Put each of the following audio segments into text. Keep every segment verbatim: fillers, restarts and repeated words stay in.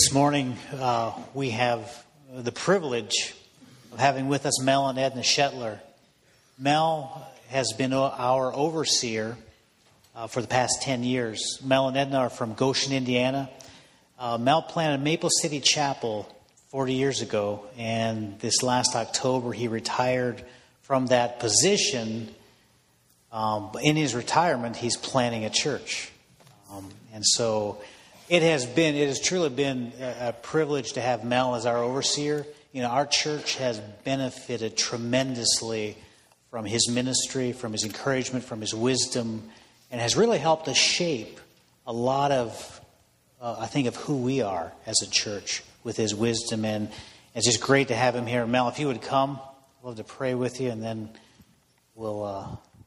This morning, uh, we have the privilege of having with us Mel and Edna Shetler. Mel has been our overseer uh, for the past ten years. Mel and Edna are from Goshen, Indiana. Uh, Mel planted Maple City Chapel forty years ago, and this last October he retired from that position. Um, in his retirement, he's planning a church. Um, and so it has been, it has truly been a, a privilege to have Mel as our overseer. You know, our church has benefited tremendously from his ministry, from his encouragement, from his wisdom, and has really helped us shape a lot of, uh, I think, of who we are as a church with his wisdom. And it's just great to have him here. Mel, if you would come, I'd love to pray with you, and then we'll uh,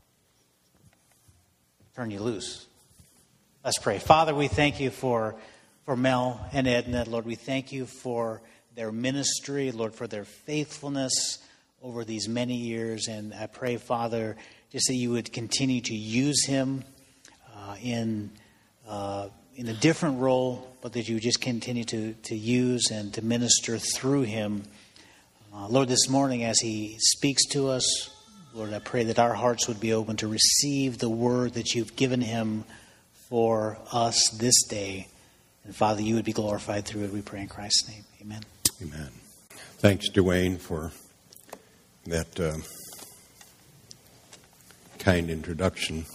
turn you loose. Let's pray. Father, we thank you for, for Mel and Edna. Lord, we thank you for their ministry, Lord, for their faithfulness over these many years. And I pray, Father, just that you would continue to use him uh, in uh, in a different role, but that you would just continue to, to use and to minister through him. Uh, Lord, this morning as he speaks to us, Lord, I pray that our hearts would be open to receive the word that you've given him for us this day. And Father, you would be glorified through it, we pray in Christ's name. Amen. Amen. Thanks, Dwayne, for that uh, kind introduction.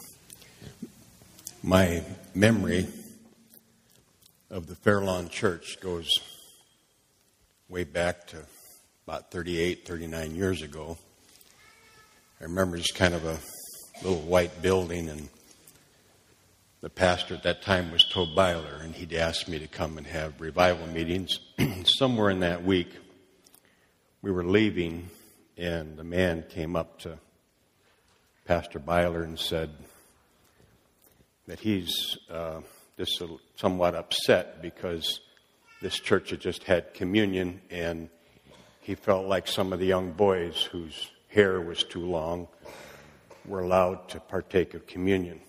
My memory of the Fairlawn Church goes way back to about thirty-eight, thirty-nine years ago. I remember just kind of a little white building, and the pastor at that time was Tobe Byler, and he'd asked me to come and have revival meetings. Somewhere in that week, we were leaving, and the man came up to Pastor Byler and said that he's uh, just somewhat upset because this church had just had communion, and he felt like some of the young boys whose hair was too long were allowed to partake of communion.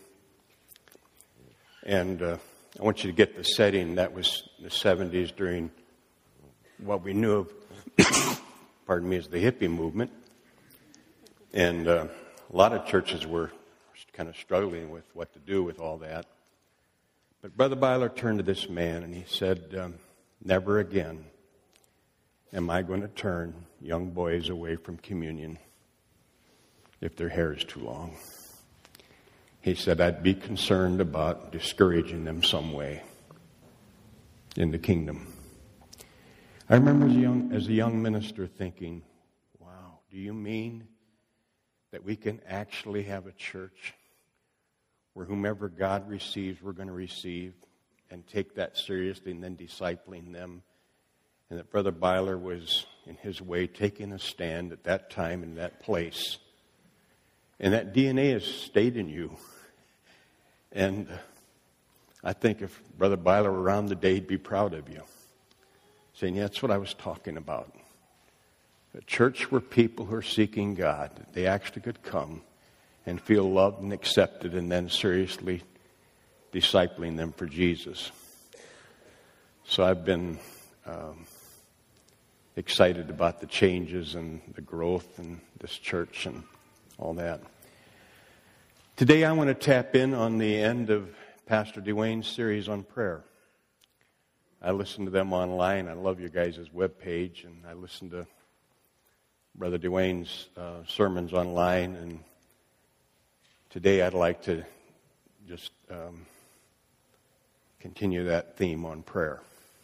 And uh, I want you to get the setting. That was the seventies during what we knew of, pardon me, as the hippie movement. And uh, a lot of churches were kind of struggling with what to do with all that. But Brother Byler turned to this man and he said, um, never again am I going to turn young boys away from communion if their hair is too long. He said, I'd be concerned about discouraging them some way in the kingdom. I remember as a young, as a young minister thinking, wow, do you mean that we can actually have a church where whomever God receives, we're going to receive, and take that seriously and then discipling them? And that Brother Byler was, in his way, taking a stand at that time in that place. And that D N A has stayed in you. And uh, I think if Brother Byler were around today, he'd be proud of you. Saying, yeah, that's what I was talking about. A church where people who are seeking God, they actually could come and feel loved and accepted, and then seriously discipling them for Jesus. So I've been um, excited about the changes and the growth in this church and all that. Today I want to tap in on the end of Pastor Dwayne's series on prayer. I listen to them online. I love your guys' webpage, and I listen to Brother Dwayne's uh, sermons online. And today I'd like to just um, continue that theme on prayer.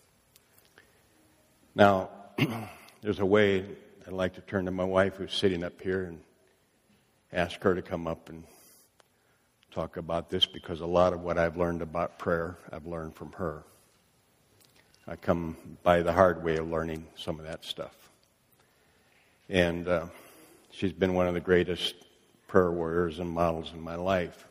Now, there's a way I'd like to turn to my wife who's sitting up here and ask her to come up and talk about this, because a lot of what I've learned about prayer, I've learned from her. I come by the hard way of learning some of that stuff. And uh, she's been one of the greatest prayer warriors and models in my life.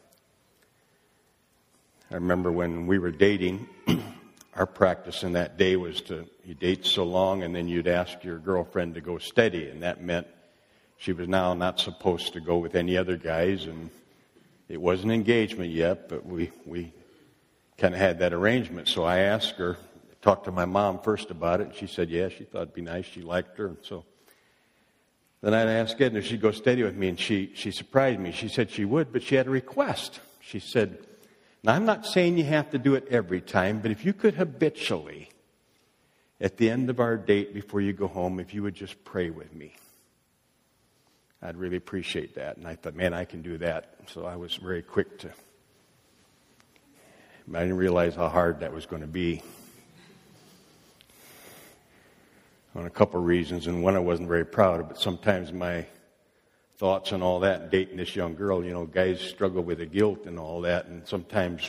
I remember when we were dating, our practice in that day was to, you date so long and then you'd ask your girlfriend to go steady, and that meant she was now not supposed to go with any other guys, and it wasn't engagement yet, but we, we kind of had that arrangement. So I asked her talked to my mom first about it, and she said, yeah, she thought it'd be nice. She liked her, and so then I asked Edna if she'd go steady with me, and she, she surprised me. She said she would, but she had a request. She said, now, I'm not saying you have to do it every time, but if you could habitually, at the end of our date before you go home, if you would just pray with me, I'd really appreciate that. And I thought, man, I can do that. So I was very quick to, I didn't realize how hard that was going to be. On a couple of reasons, and one I wasn't very proud of, but sometimes my thoughts and all that, and dating this young girl, you know, guys struggle with the guilt and all that, and sometimes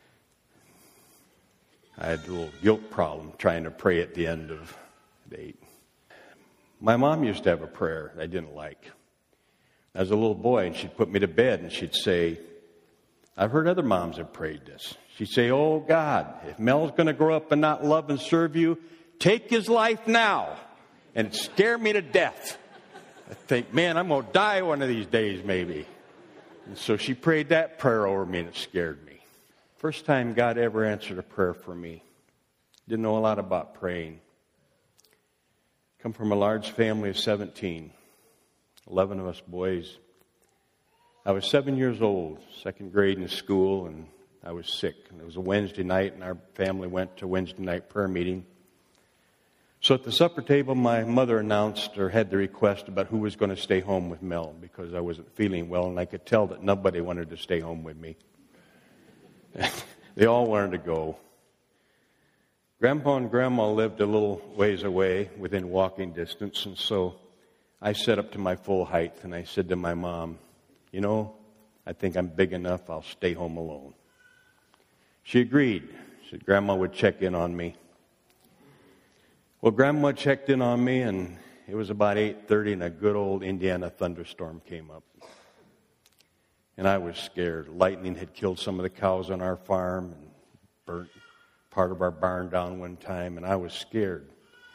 I had a little guilt problem trying to pray at the end of the date. My mom used to have a prayer I didn't like. I was a little boy, and she'd put me to bed, and she'd say, I've heard other moms have prayed this. She'd say, oh, God, if Mel's going to grow up and not love and serve you, take his life now. And it scared me to death. I think, man, I'm going to die one of these days maybe. And so she prayed that prayer over me, and it scared me. First time God ever answered a prayer for me. Didn't know a lot about praying. Come from a large family of seventeen. eleven of us boys. I was seven years old, second grade in school, and I was sick. And it was a Wednesday night, and our family went to Wednesday night prayer meeting. So at the supper table, my mother announced or had the request about who was going to stay home with Mel because I wasn't feeling well, and I could tell that nobody wanted to stay home with me. They all wanted to go. Grandpa and Grandma lived a little ways away within walking distance, and so I sat up to my full height, and I said to my mom, you know, I think I'm big enough, I'll stay home alone. She agreed. She said Grandma would check in on me. Well, Grandma checked in on me, and it was about eight thirty, and a good old Indiana thunderstorm came up. And I was scared. Lightning had killed some of the cows on our farm and burnt part of our barn down one time, and I was scared.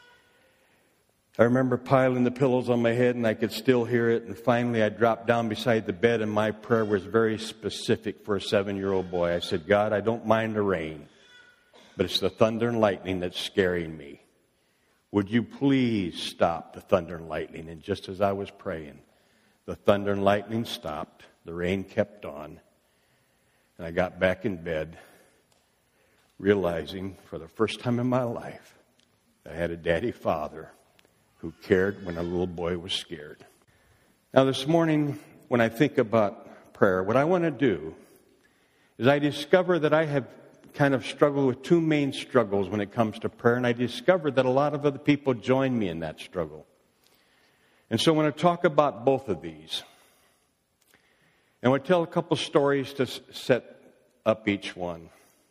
I remember piling the pillows on my head, and I could still hear it, and finally I dropped down beside the bed, and my prayer was very specific for a seven-year-old boy. I said, God, I don't mind the rain, but it's the thunder and lightning that's scaring me. Would you please stop the thunder and lightning? And just as I was praying, the thunder and lightning stopped. The rain kept on. And I got back in bed, realizing for the first time in my life, I had a daddy father who cared when a little boy was scared. Now this morning, when I think about prayer, what I want to do is I discover that I have kind of struggle with two main struggles when it comes to prayer, and I discovered that a lot of other people join me in that struggle. And so I want to talk about both of these. And I want to tell a couple stories to set up each one.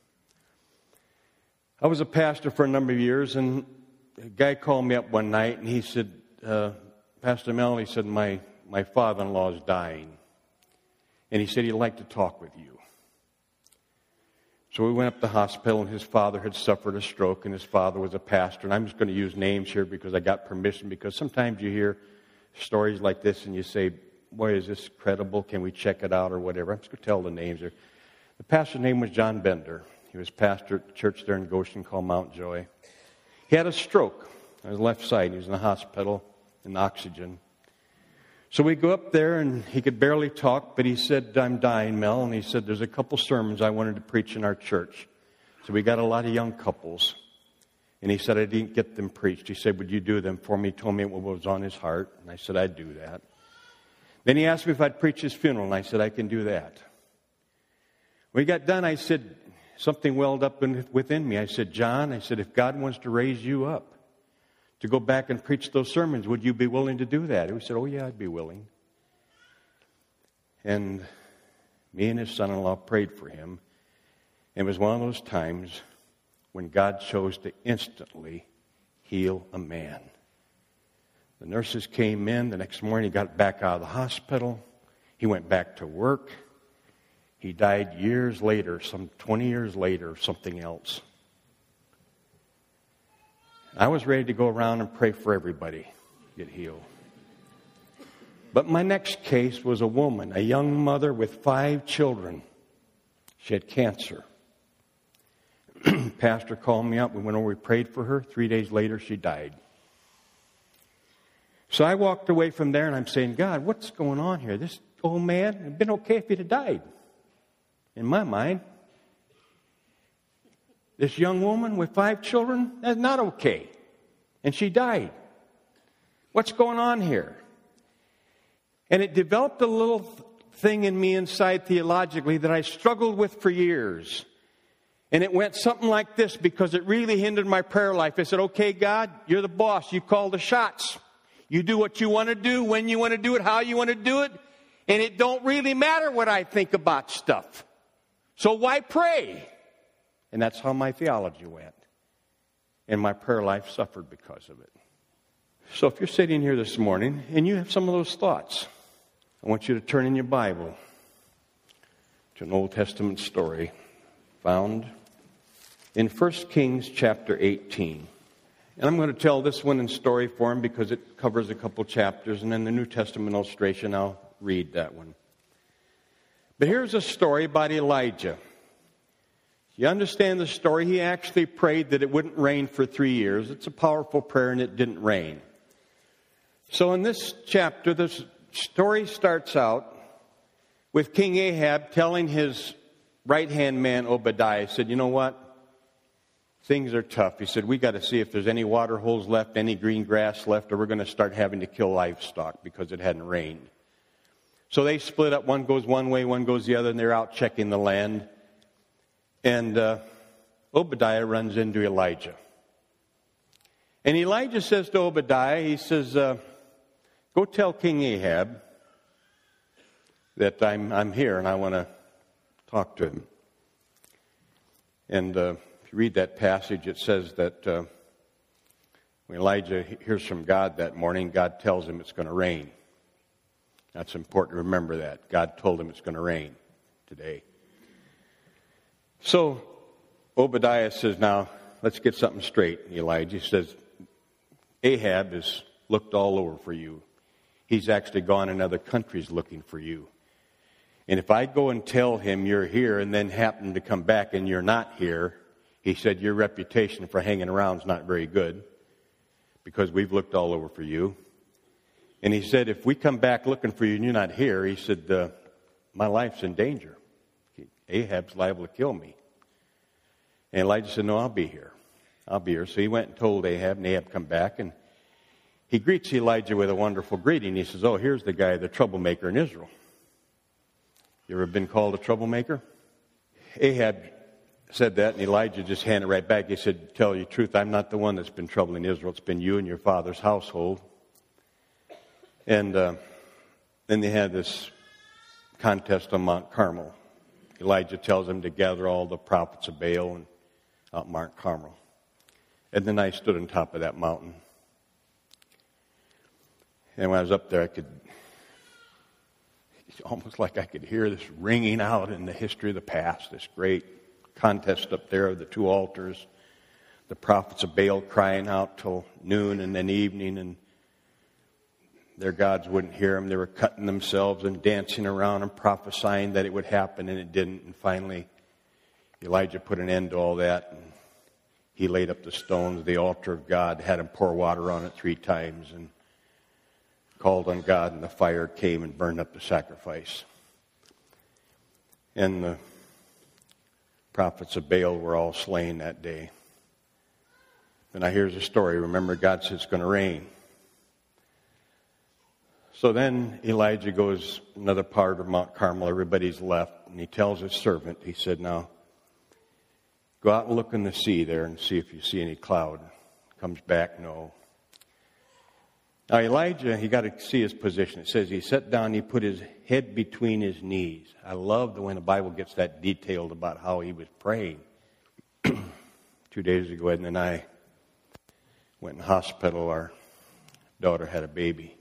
I was a pastor for a number of years, and a guy called me up one night, and he said, uh, Pastor Mel, he said, my, my father-in-law is dying. And he said he'd like to talk with you. So we went up to the hospital, and his father had suffered a stroke, and his father was a pastor. And I'm just going to use names here because I got permission, because sometimes you hear stories like this and you say, boy, is this credible? Can we check it out or whatever? I'm just going to tell the names here. The pastor's name was John Bender. He was pastor at the church there in Goshen called Mount Joy. He had a stroke on his left side. He was in the hospital in oxygen. So we go up there, and he could barely talk, but he said, I'm dying, Mel. And he said, there's a couple sermons I wanted to preach in our church. So we got a lot of young couples. And he said, I didn't get them preached. He said, would you do them for me? He told me what was on his heart. And I said, I'd do that. Then he asked me if I'd preach his funeral, and I said, I can do that. When he got done, I said, something welled up in, within me. I said, John, I said, if God wants to raise you up to go back and preach those sermons, would you be willing to do that? He said, oh, yeah, I'd be willing. And me and his son-in-law prayed for him. It was one of those times when God chose to instantly heal a man. The nurses came in. The next morning, he got back out of the hospital. He went back to work. He died years later, some twenty years later, of something else. I was ready to go around and pray for everybody to get healed. But my next case was a woman, a young mother with five children. She had cancer. Pastor called me up. We went over, we prayed for her. Three days later, she died. So I walked away from there, and I'm saying, God, what's going on here? This old man, it'd been okay if he'd have died. In my mind, this young woman with five children, that's not okay. And she died. What's going on here? And it developed a little thing in me inside theologically that I struggled with for years. And it went something like this because it really hindered my prayer life. I said, okay, God, you're the boss. You call the shots. You do what you want to do, when you want to do it, how you want to do it. And it don't really matter what I think about stuff. So why pray? And that's how my theology went. And my prayer life suffered because of it. So if you're sitting here this morning and you have some of those thoughts, I want you to turn in your Bible to an Old Testament story found in First Kings chapter eighteen. And I'm going to tell this one in story form because it covers a couple chapters, and then the New Testament illustration, I'll read that one. But here's a story about Elijah. You understand the story? He actually prayed that it wouldn't rain for three years. It's a powerful prayer, and it didn't rain. So in this chapter, the story starts out with King Ahab telling his right-hand man, Obadiah, said, you know what? Things are tough. He said, we got to see if there's any water holes left, any green grass left, or we're going to start having to kill livestock because it hadn't rained. So they split up. One goes one way, one goes the other, and they're out checking the land. And uh, Obadiah runs into Elijah. And Elijah says to Obadiah, he says, uh, go tell King Ahab that I'm, I'm here and I want to talk to him. And uh, if you read that passage, it says that uh, when Elijah hears from God that morning, God tells him it's going to rain. That's important to remember that. God told him it's going to rain today. So Obadiah says, now, let's get something straight, Elijah. He says, Ahab has looked all over for you. He's actually gone in other countries looking for you. And if I go and tell him you're here and then happen to come back and you're not here, he said, your reputation for hanging around is not very good because we've looked all over for you. And he said, if we come back looking for you and you're not here, he said, uh, my life's in danger. Ahab's liable to kill me. And Elijah said, no, I'll be here. I'll be here. So he went and told Ahab, and Ahab come back, and he greets Elijah with a wonderful greeting. He says, oh, here's the guy, the troublemaker in Israel. You ever been called a troublemaker? Ahab said that, and Elijah just handed it right back. He said, to tell you the truth, I'm not the one that's been troubling Israel. It's been you and your father's household. And uh, then they had this contest on Mount Carmel. Elijah tells him to gather all the prophets of Baal and out Mount Carmel. And then I stood on top of that mountain. And when I was up there, I could, it's almost like I could hear this ringing out in the history of the past, this great contest up there of the two altars, the prophets of Baal crying out till noon and then evening, and their gods wouldn't hear them. They were cutting themselves and dancing around and prophesying that it would happen, and it didn't. And finally, Elijah put an end to all that, and he laid up the stones of the altar of God, had him pour water on it three times, and called on God, and the fire came and burned up the sacrifice. And the prophets of Baal were all slain that day. And now here's the story. Remember, God said it's going to rain. So then Elijah goes another part of Mount Carmel. Everybody's left. And he tells his servant, he said, now, go out and look in the sea there and see if you see any cloud. Comes back, no. Now Elijah, he got to see his position. It says he sat down, he put his head between his knees. I love the when the Bible gets that detailed about how he was praying. Two days ago, Ed and I went in the hospital. Our daughter had a baby.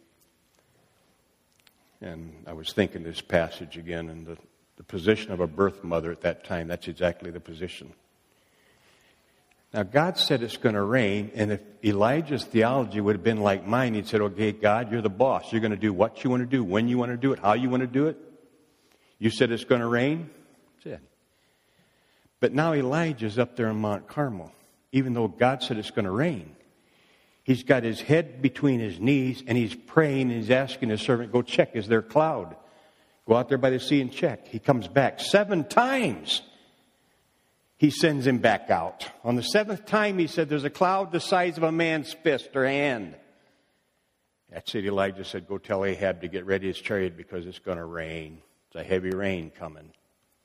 And I was thinking this passage again, and the, the position of a birth mother at that time, that's exactly the position. Now, God said it's going to rain, and if Elijah's theology would have been like mine, he'd said, okay, God, you're the boss. You're going to do what you want to do, when you want to do it, how you want to do it. You said it's going to rain. That's it. But now Elijah's up there on Mount Carmel, even though God said it's going to rain. He's got his head between his knees, and he's praying, and he's asking his servant, go check, is there a cloud? Go out there by the sea and check. He comes back seven times. He sends him back out. On the seventh time, he said, there's a cloud the size of a man's fist or hand. That's it. Elijah said, go tell Ahab to get ready his chariot because it's going to rain. It's a heavy rain coming.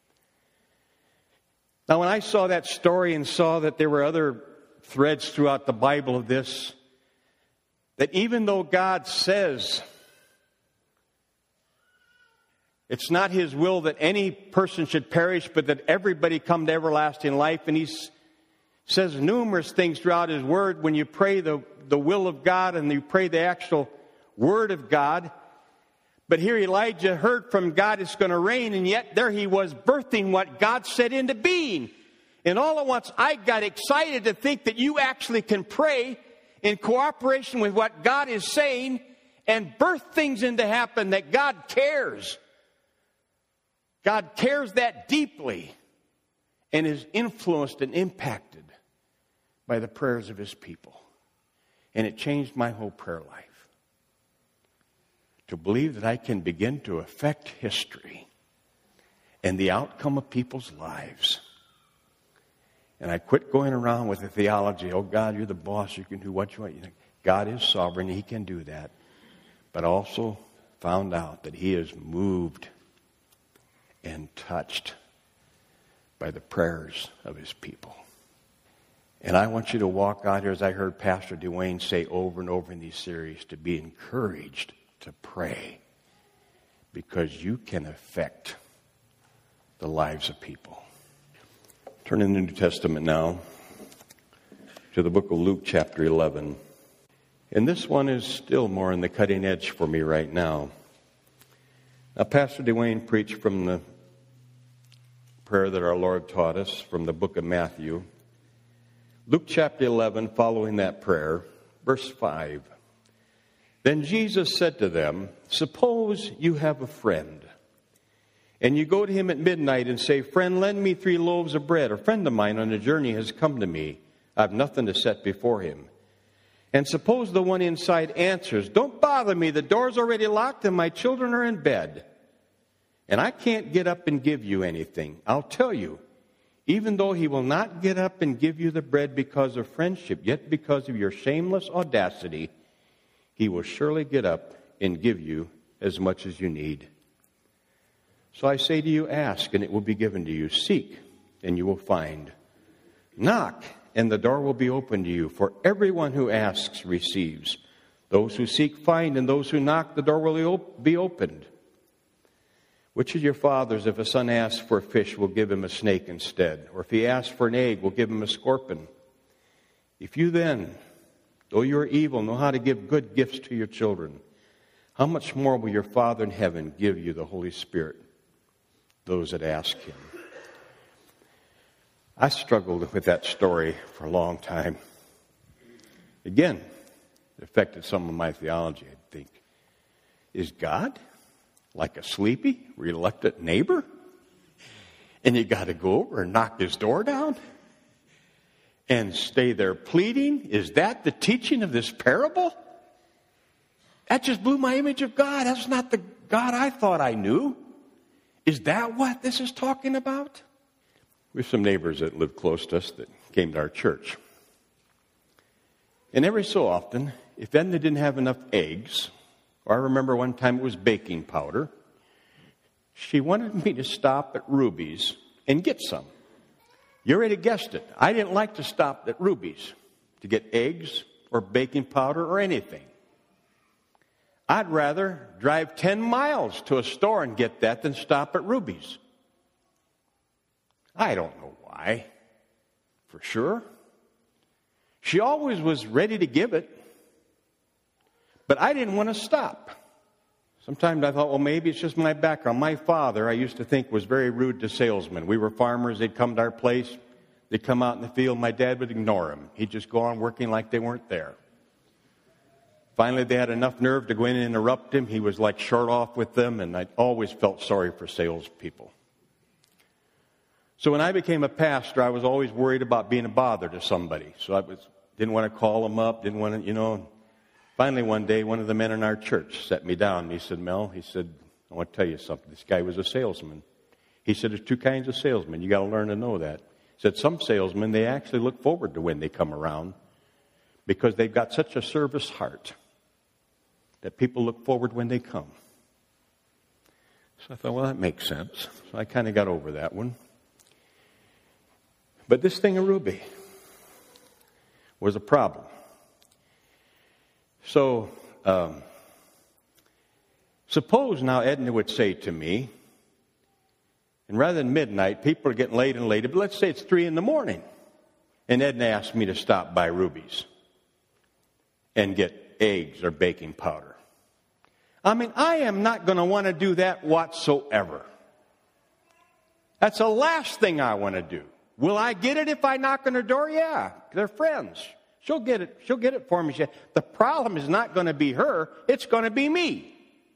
Now, when I saw that story and saw that there were other threads throughout the Bible of this, that even though God says it's not His will that any person should perish, but that everybody come to everlasting life, and He says numerous things throughout His Word when you pray the, the will of God and you pray the actual Word of God. But here Elijah heard from God it's going to rain, and yet there he was birthing what God set into being. And all at once I got excited to think that you actually can pray in cooperation with what God is saying and birth things into happen that God cares. God cares that deeply and is influenced and impacted by the prayers of His people. And it changed my whole prayer life. To believe that I can begin to affect history and the outcome of people's lives. And I quit going around with the theology, oh God, you're the boss, you can do what you want. You think God is sovereign, He can do that. But also found out that He is moved and touched by the prayers of His people. And I want you to walk out here, as I heard Pastor Dwayne say over and over in these series, to be encouraged to pray, because you can affect the lives of people. Turn in the New Testament now to the book of Luke chapter eleven. And this one is still more on the cutting edge for me right now. Now, Pastor Dwayne preached from the prayer that our Lord taught us from the book of Matthew. Luke chapter eleven, following that prayer, verse five. Then Jesus said to them, suppose you have a friend, and you go to him at midnight and say, friend, lend me three loaves of bread. A friend of mine on a journey has come to me. I have nothing to set before him. And suppose the one inside answers, don't bother me. The door's already locked and my children are in bed. And I can't get up and give you anything. I'll tell you, even though he will not get up and give you the bread because of friendship, yet because of your shameless audacity, he will surely get up and give you as much as you need. So I say to you, ask, and it will be given to you. Seek, and you will find. Knock, and the door will be opened to you. For everyone who asks receives. Those who seek find, and those who knock, the door will be opened. Which of your fathers, if a son asks for a fish, will give him a snake instead? Or if he asks for an egg, will give him a scorpion? If you then, though you are evil, know how to give good gifts to your children, how much more will your Father in heaven give you the Holy Spirit, those that ask Him? I struggled with that story for a long time. Again, it affected some of my theology, I think. Is God like a sleepy, reluctant neighbor? And you got to go over and knock his door down? And stay there pleading? Is that the teaching of this parable? That just blew my image of God. That's not the God I thought I knew. Is that what this is talking about? We have some neighbors that live close to us that came to our church. And every so often, if then they didn't have enough eggs, or I remember one time it was baking powder, she wanted me to stop at Ruby's and get some. You already guessed it. I didn't like to stop at Ruby's to get eggs or baking powder or anything. I'd rather drive ten miles to a store and get that than stop at Ruby's. I don't know why, for sure. She always was ready to give it, but I didn't want to stop. Sometimes I thought, well, maybe it's just my background. My father, I used to think, was very rude to salesmen. We were farmers. They'd come to our place. They'd come out in the field. My dad would ignore them. He'd just go on working like they weren't there. Finally, they had enough nerve to go in and interrupt him. He was like short off with them, and I always felt sorry for salespeople. So when I became a pastor, I was always worried about being a bother to somebody. So I was, didn't want to call them up, didn't want to, you know. Finally, one day, one of the men in our church set me down, and he said, Mel, he said, I want to tell you something. This guy was a salesman. He said, there's two kinds of salesmen. You got to learn to know that. He said, some salesmen, they actually look forward to when they come around because they've got such a service heart that people look forward when they come. So I thought, well, that makes sense. So I kind of got over that one. But this thing of Ruby was a problem. So, um, suppose now Edna would say to me, and rather than midnight, people are getting later and later, but let's say it's three in the morning, and Edna asked me to stop by Ruby's and get eggs or baking powder. I mean, I am not going to want to do that whatsoever. That's the last thing I want to do. Will I get it if I knock on her door? Yeah, they're friends. She'll get it. She'll get it for me. The problem is not going to be her. It's going to be me.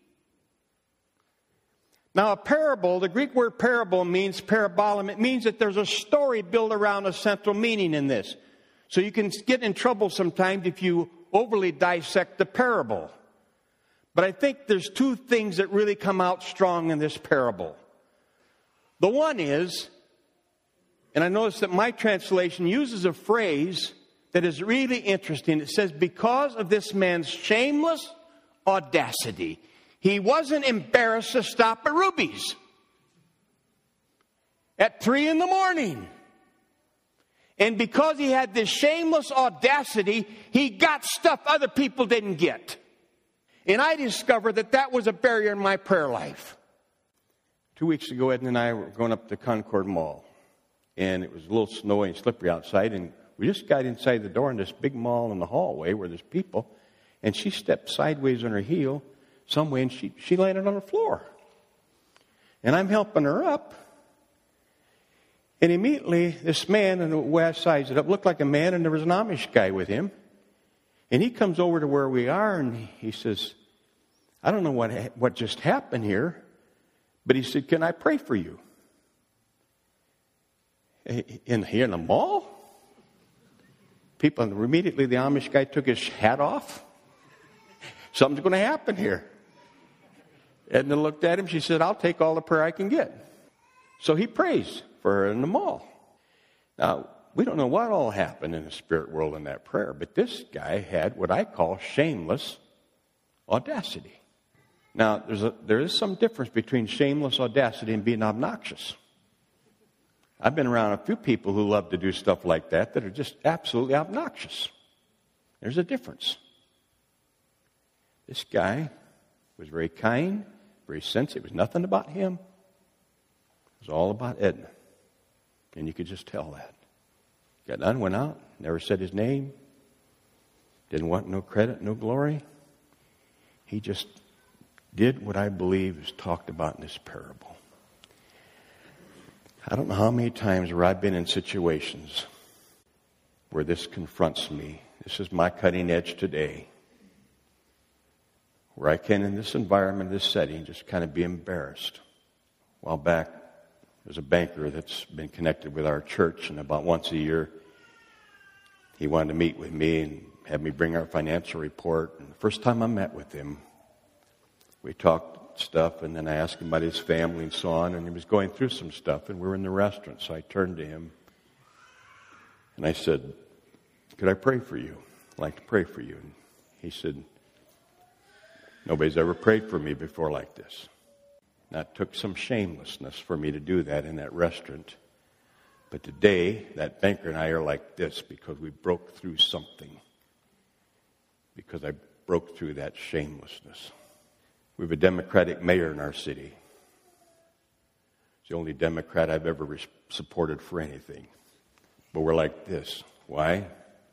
Now, a parable, the Greek word parable means parabolum. It means that there's a story built around a central meaning in this. So you can get in trouble sometimes if you overly dissect the parable. But I think there's two things that really come out strong in this parable. The one is, and I notice that my translation uses a phrase that is really interesting. It says, because of this man's shameless audacity, he wasn't embarrassed to stop at Ruby's at three in the morning. And because he had this shameless audacity, he got stuff other people didn't get. And I discovered that that was a barrier in my prayer life. Two weeks ago, Edna and I were going up to Concord Mall. And it was a little snowy and slippery outside. And we just got inside the door in this big mall in the hallway where there's people. And she stepped sideways on her heel some way, and she, she landed on the floor. And I'm helping her up. And immediately, this man, and the way I sized it up, looked like a man, and there was an Amish guy with him. And he comes over to where we are, and he says, I don't know what what just happened here, but he said, can I pray for you? In here in the mall? People, immediately the Amish guy took his hat off. Something's going to happen here. Edna looked at him. She said, I'll take all the prayer I can get. So he prays for her in the mall. Now, we don't know what all happened in the spirit world in that prayer, but this guy had what I call shameless audacity. Now, there's a, there is some difference between shameless audacity and being obnoxious. I've been around a few people who love to do stuff like that that are just absolutely obnoxious. There's a difference. This guy was very kind, very sensitive. It was nothing about him. It was all about Edna. And you could just tell that. Got done, went out, never said his name. Didn't want no credit, no glory. He just did what I believe is talked about in this parable. I don't know how many times where I've been in situations where this confronts me. This is my cutting edge today. Where I can, in this environment, this setting, just kind of be embarrassed. A while back, there's a banker that's been connected with our church, and about once a year, he wanted to meet with me and have me bring our financial report. And the first time I met with him, we talked stuff, and then I asked him about his family and so on, and he was going through some stuff, and we were in the restaurant, so I turned to him, and I said, could I pray for you? I'd like to pray for you. And he said, nobody's ever prayed for me before like this. That took some shamelessness for me to do that in that restaurant. But today, that banker and I are like this because we broke through something. Because I broke through that shamelessness. We have a Democratic mayor in our city. It's the only Democrat I've ever re- supported for anything. But we're like this. Why?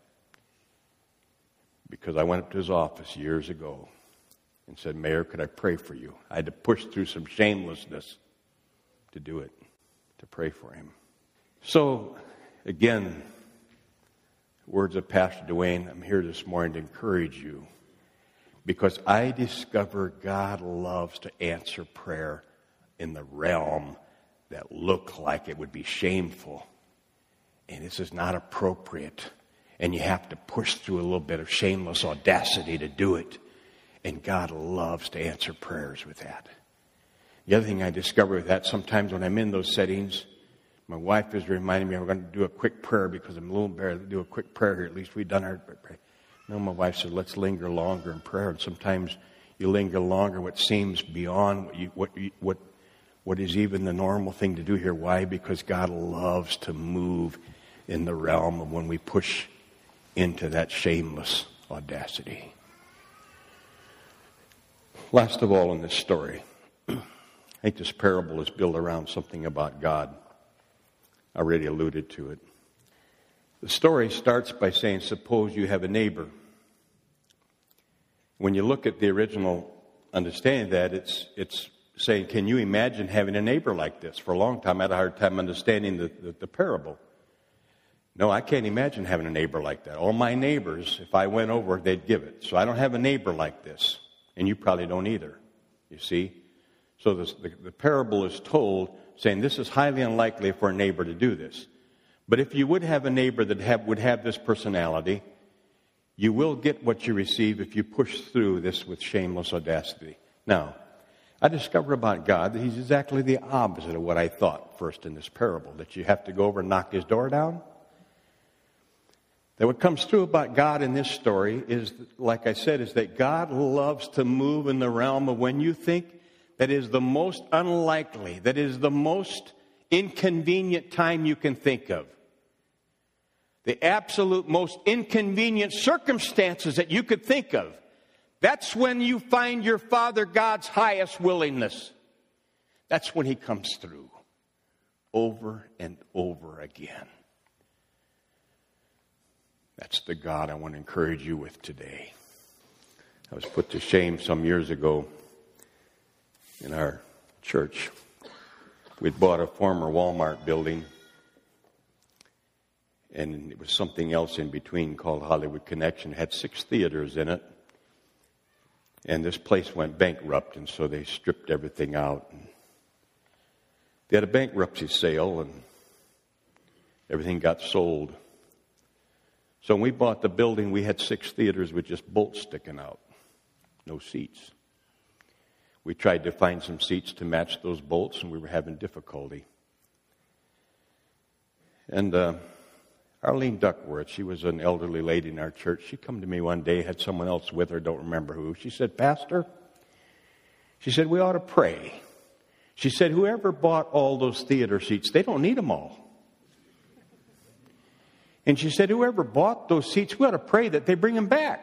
Because I went up to his office years ago and said, Mayor, could I pray for you? I had to push through some shamelessness to do it, to pray for him. So, again, words of Pastor Dwayne, I'm here this morning to encourage you because I discover God loves to answer prayer in the realm that look like it would be shameful. And this is not appropriate. And you have to push through a little bit of shameless audacity to do it. And God loves to answer prayers with that. The other thing I discover with that, sometimes when I'm in those settings, my wife is reminding me, we're going to do a quick prayer because I'm a little embarrassed to do a quick prayer here. At least we've done our prayer. No, my wife said, let's linger longer in prayer. And sometimes you linger longer what seems beyond what you, what you, what what is even the normal thing to do here. Why? Because God loves to move in the realm of when we push into that shameless audacity. Last of all in this story, I think this parable is built around something about God. I already alluded to it. The story starts by saying, suppose you have a neighbor. When you look at the original understanding of that, it's it's saying, can you imagine having a neighbor like this? For a long time, I had a hard time understanding the, the, the parable. No, I can't imagine having a neighbor like that. All my neighbors, if I went over, they'd give it. So I don't have a neighbor like this. And you probably don't either, you see? So this, the, the parable is told saying this is highly unlikely for a neighbor to do this. But if you would have a neighbor that have, would have this personality, you will get what you receive if you push through this with shameless audacity. Now, I discover about God that he's exactly the opposite of what I thought first in this parable, that you have to go over and knock his door down. That what comes through about God in this story is, like I said, is that God loves to move in the realm of when you think that is the most unlikely, that is the most inconvenient time you can think of. The absolute most inconvenient circumstances that you could think of. That's when you find your Father God's highest willingness. That's when he comes through over and over again. That's the God I want to encourage you with today. I was put to shame some years ago in our church. We'd bought a former Walmart building, and it was something else in between called Hollywood Connection. It had six theaters in it. And this place went bankrupt, and so they stripped everything out. And they had a bankruptcy sale, and everything got sold. So when we bought the building, we had six theaters with just bolts sticking out. No seats. We tried to find some seats to match those bolts, and we were having difficulty. And uh, Arlene Duckworth, she was an elderly lady in our church. She come to me one day, had someone else with her, don't remember who. She said, Pastor, she said, we ought to pray. She said, whoever bought all those theater seats, they don't need them all. And she said, whoever bought those seats, we ought to pray that they bring them back.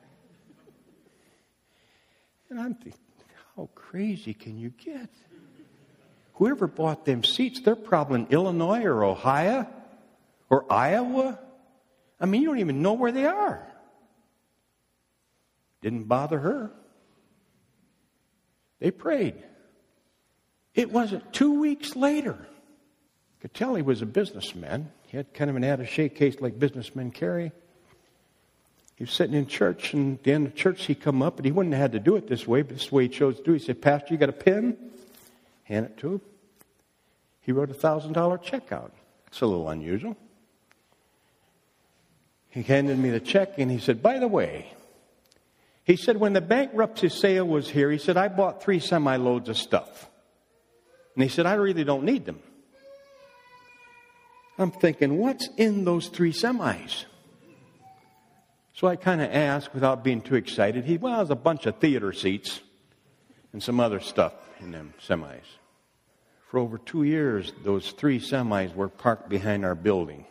And I'm thinking, how crazy can you get? Whoever bought them seats, they're probably in Illinois or Ohio or Iowa. I mean, you don't even know where they are. Didn't bother her. They prayed. It wasn't two weeks later. Could tell he was a businessman. He had kind of an attaché case like businessmen carry. He was sitting in church, and at the end of church, he come up, and he wouldn't have had to do it this way, but this is the way he chose to do it. He said, Pastor, you got a pen? Hand it to him. He wrote a one thousand dollars check out. That's a little unusual. He handed me the check, and he said, by the way, he said, when the bankruptcy sale was here, he said, I bought three semi-loads of stuff. And he said, I really don't need them. I'm thinking, what's in those three semis? So I kind of asked, without being too excited, he, well, there's a bunch of theater seats and some other stuff in them semis. For over two years, those three semis were parked behind our building.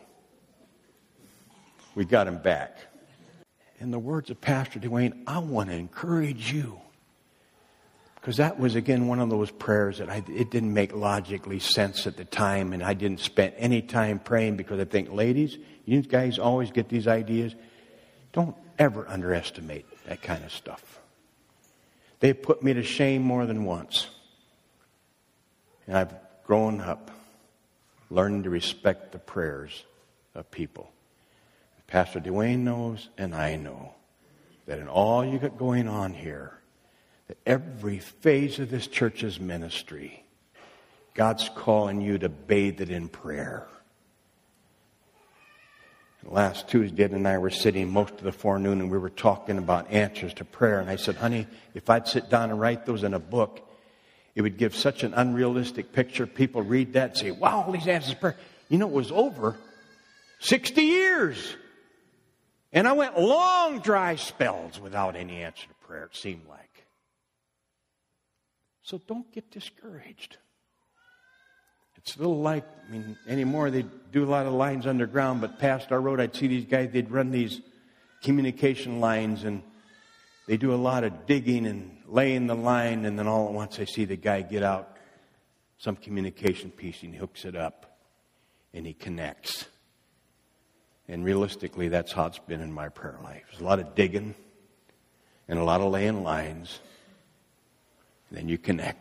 We got them back. In the words of Pastor Dwayne, I want to encourage you. Because that was, again, one of those prayers that I, it didn't make logically sense at the time, and I didn't spend any time praying because I think, ladies, you guys always get these ideas. Don't ever underestimate that kind of stuff. They put me to shame more than once. And I've grown up learning to respect the prayers of people. Pastor Dwayne knows, and I know, that in all you got going on here, that every phase of this church's ministry God's calling you to bathe it in prayer. Last Tuesday, Ed and I were sitting most of the forenoon and we were talking about answers to prayer. And I said, honey, if I'd sit down and write those in a book, it would give such an unrealistic picture. People read that and say, wow, all these answers to prayer. You know, it was over sixty years. And I went long, dry spells without any answer to prayer, it seemed like. So don't get discouraged. It's a little like, I mean, anymore they do a lot of lines underground, but past our road I'd see these guys, they'd run these communication lines and they do a lot of digging and laying the line, and then all at once I see the guy get out some communication piece and he hooks it up and he connects. And realistically, that's how it's been in my prayer life. There's a lot of digging and a lot of laying lines, and then you connect.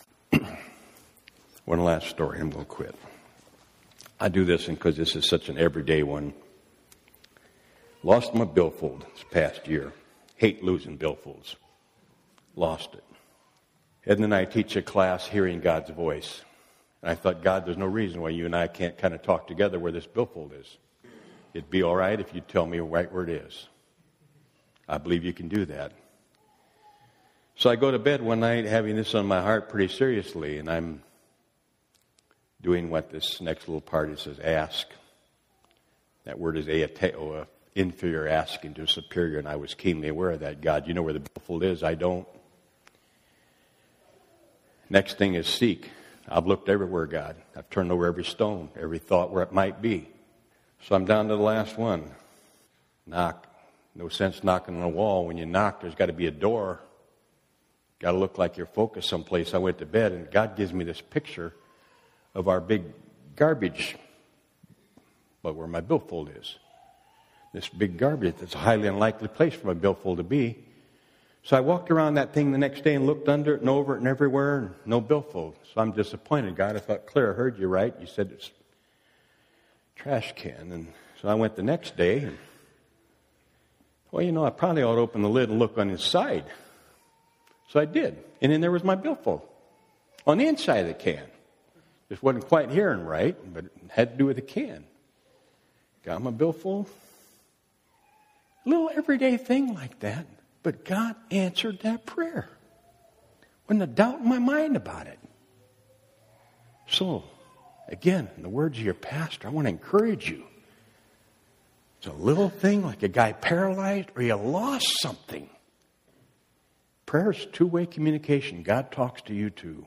One last story, I'm going to quit. I do this because this is such an everyday one. Lost my billfold this past year. Hate losing billfolds. Lost it. Ed and I teach a class, Hearing God's Voice. And I thought, God, there's no reason why you and I can't kind of talk together where this billfold is. It'd be all right if you tell me right where it is. I believe you can do that. So I go to bed one night having this on my heart pretty seriously, and I'm doing what this next little part says, ask. That word is aeteo, a inferior asking to a superior, and I was keenly aware of that. God, you know where the billfold is. I don't. Next thing is seek. I've looked everywhere, God. I've turned over every stone, every thought where it might be. So I'm down to the last one. Knock. No sense knocking on a wall. When you knock, there's got to be a door. Got to look like you're focused someplace. I went to bed, and God gives me this picture of our big garbage, but where my billfold is. This big garbage that's a highly unlikely place for my billfold to be. So I walked around that thing the next day and looked under it and over it and everywhere, and no billfold. So I'm disappointed, God. I thought, Claire, I heard you right. You said it's a trash can. And so I went the next day, and well, you know, I probably ought to open the lid and look on the side. So I did. And then there was my billfold on the inside of the can. Just wasn't quite hearing right, but it had to do with the can. Got my billfold. A little everyday thing like that, but God answered that prayer. Wasn't a doubt in my mind about it. So, again, in the words of your pastor, I want to encourage you. It's a little thing like a guy paralyzed or you lost something. Prayer is two-way communication. God talks to you too.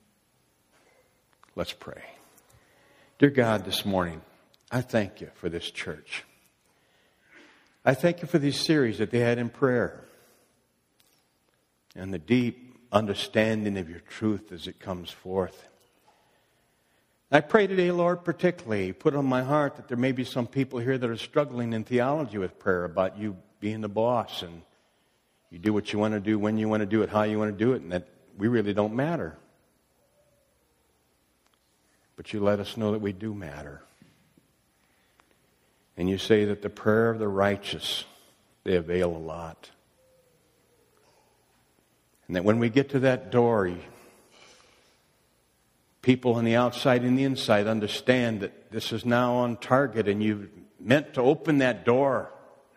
Let's pray. Dear God, this morning, I thank you for this church. I thank you for these series that they had in prayer and the deep understanding of your truth as it comes forth. I pray today, Lord, particularly, put on my heart that there may be some people here that are struggling in theology with prayer about you being the boss and you do what you want to do, when you want to do it, how you want to do it, and that we really don't matter. But you let us know that we do matter. And you say that the prayer of the righteous, they avail a lot. And that when we get to that door, you, people on the outside and the inside understand that this is now on target and you've meant to open that door.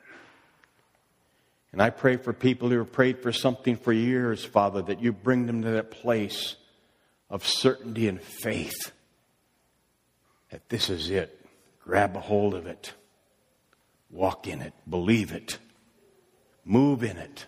And I pray for people who have prayed for something for years, Father, that you bring them to that place of certainty and faith. That this is it. Grab a hold of it. Walk in it. Believe it. Move in it.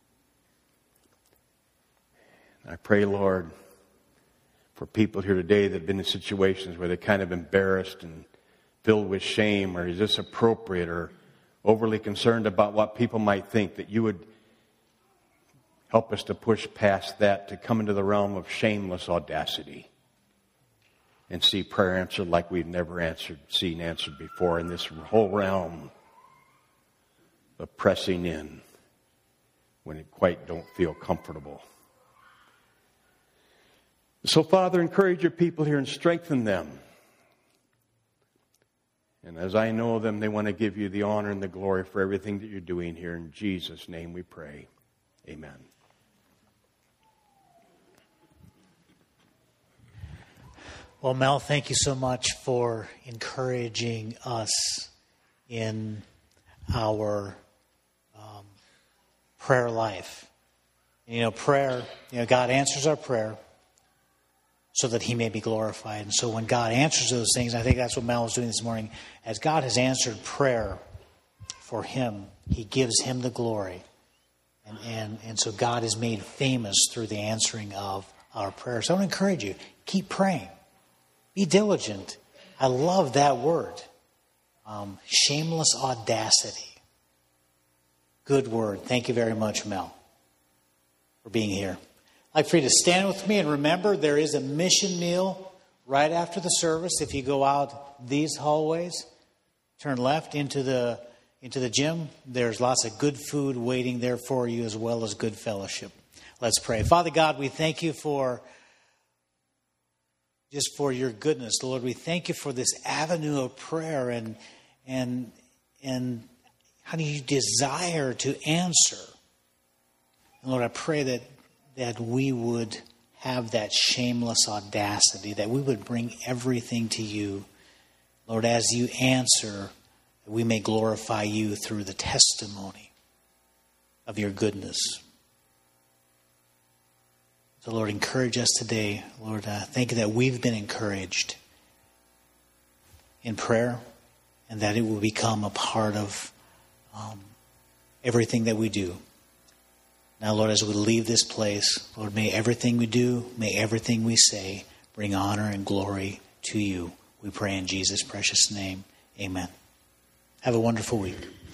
I pray, Lord, for people here today that have been in situations where they're kind of embarrassed and filled with shame, or is this appropriate, or overly concerned about what people might think, that you would help us to push past that to come into the realm of shameless audacity and see prayer answered like we've never answered, seen answered before in this whole realm of pressing in when it quite don't feel comfortable. So, Father, encourage your people here and strengthen them. And as I know them, they want to give you the honor and the glory for everything that you're doing here. In Jesus' name we pray. Amen. Well, Mel, thank you so much for encouraging us in our um, prayer life. You know, prayer, you know, God answers our prayer so that He may be glorified. And so when God answers those things, I think that's what Mel was doing this morning, as God has answered prayer for him, He gives Him the glory. And, and, and so God is made famous through the answering of our prayers. So I want to encourage you, keep praying. Be diligent. I love that word. Um, shameless audacity. Good word. Thank you very much, Mel, for being here. I'd like for you to stand with me and remember there is a mission meal right after the service. If you go out these hallways, turn left into the into the gym. There's lots of good food waiting there for you as well as good fellowship. Let's pray. Father God, we thank you for just for your goodness, Lord. We thank you for this avenue of prayer and and and how do you desire to answer. And Lord, I pray that that we would have that shameless audacity, that we would bring everything to you. Lord, as you answer, that we may glorify you through the testimony of your goodness. So, Lord, encourage us today. Lord, uh, thank you that we've been encouraged in prayer and that it will become a part of um, everything that we do. Now, Lord, as we leave this place, Lord, may everything we do, may everything we say bring honor and glory to you. We pray in Jesus' precious name. Amen. Have a wonderful week.